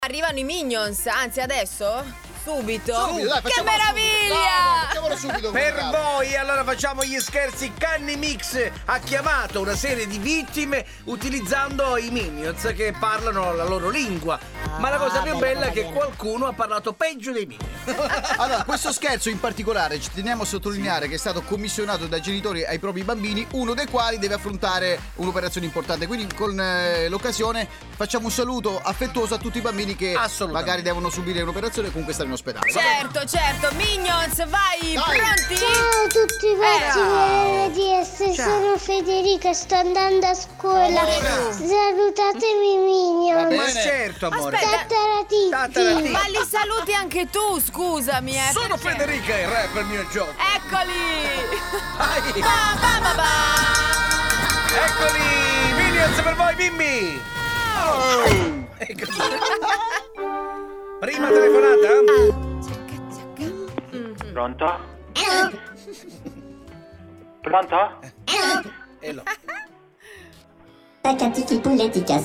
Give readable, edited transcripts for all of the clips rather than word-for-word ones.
Arrivano i Minions, anzi adesso? Subito? Dai, che meraviglia! Facciamolo subito. Per voi, allora facciamo gli scherzi. Canny Mix ha chiamato una serie di vittime utilizzando i Minions che parlano la loro lingua. Ma la cosa più bella è che qualcuno ha parlato peggio dei Minions. Allora, questo scherzo in particolare ci teniamo a sottolineare che è stato commissionato dai genitori ai propri bambini, uno dei quali deve affrontare un'operazione importante. Quindi con l'occasione facciamo un saluto affettuoso a tutti i bambini che magari devono subire un'operazione e comunque stare in ospedale. Certo, Minions, vai, pronti? Ciao a tutti voi RDS, sono Federica, sto andando a scuola. Salutatemi Minions. Ma certo, amore. Tataratitti. Ma li saluti anche tu, scusami. Sono Federica e rap il mio gioco. Eccoli! Vai. Ba. Eccoli, Minions per voi, bimbi. Eccoli. Prima telefonata? Pronto? Pronto? Hello. Taccatichi pulletica.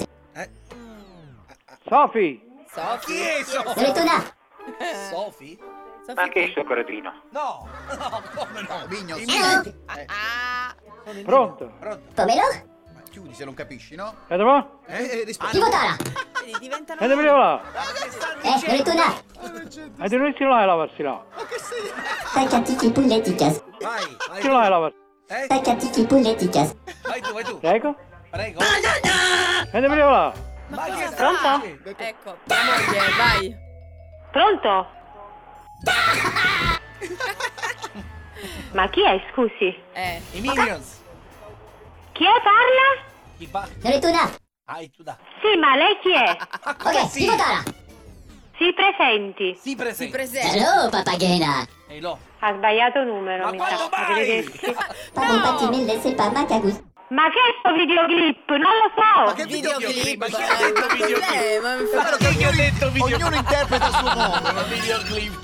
Sofi! Chi è Sofì? Dove Sofì? Ma che è sto cretino? No, come no? Minions. Pronto? Pomelo? Ma chiudi se non capisci, no? Vedi qua? Rispondi. Chi votara? Diventano... Vedi là? Dove tu là? E di noi si là e lavarsi là. Taccatichi pulletica. Vai, Si là e lavarsi. Taccatichi pulletica. vai tu. Prego? Prego. Vedi là? Ma cosa Pronto? fai? Ecco, la moglie, vai. Pronto? Ma chi è, scusi? I Minions. Chi è, parla? Chi parla? Dove tu là? Tu da. Sì, ma lei chi è? Ok, chi votara? Si presenti. Si presenta. Presente. Hello, papagena. Ehi, lo. Ha sbagliato numero, Ma mi quando sa. mai? Arrivederci. Papà, mille se pa macagus. Ma che è sto videoclip? Non lo so. che Videoclip. Ma chi ha detto videoclip? Ma Ma chi ha detto videoclip? Ognuno interpreta il suo modo. Ma videoclip.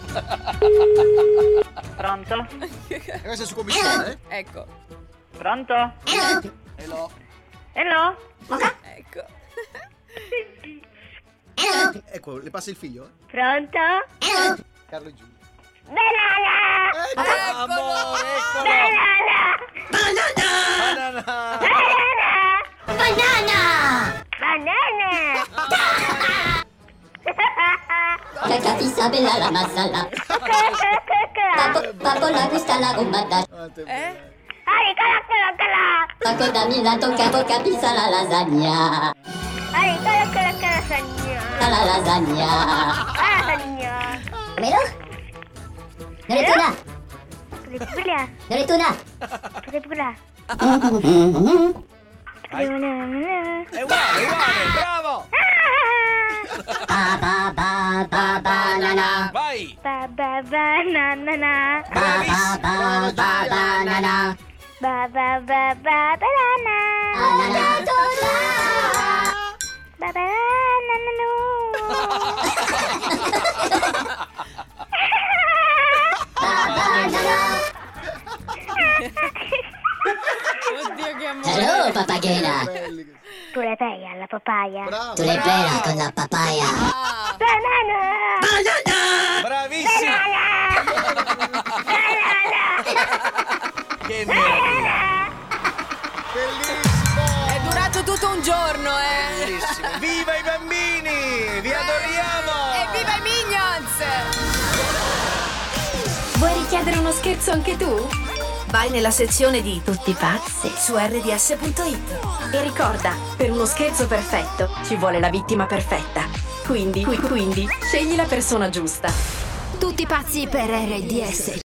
Pronto? Questo è su commissione, Ecco, Pronto? Hello. Hello? ecco. Ecco, le passa il figlio? Pronto? Carlo e Giulia. Banana! Eccolo. Eccolo. Banana. Banana! Cacapisa bella la masala. Papo la gusta la gomata. Paco da Milano capisa la lasagna. La lasagna. Pomelo? Dove tu là? Dove tu là? È uguale, bravo. Banana. Vai. Banana. Bravissimo. Banana. Oddio che amore. Hello, papagena. Tu le pei alla papaya. Bravo. Tu le pera con la papaya. Bravissimo. Che meraviglia. Bellissimo. È durato tutto un giorno, Bellissimo. Viva i bambini. Vi adoriamo. E viva i Minions! Vuoi richiedere uno scherzo anche tu? Vai nella sezione di Tutti pazzi su rds.it e ricorda, per uno scherzo perfetto ci vuole la vittima perfetta. Quindi scegli la persona giusta. Tutti pazzi per RDS.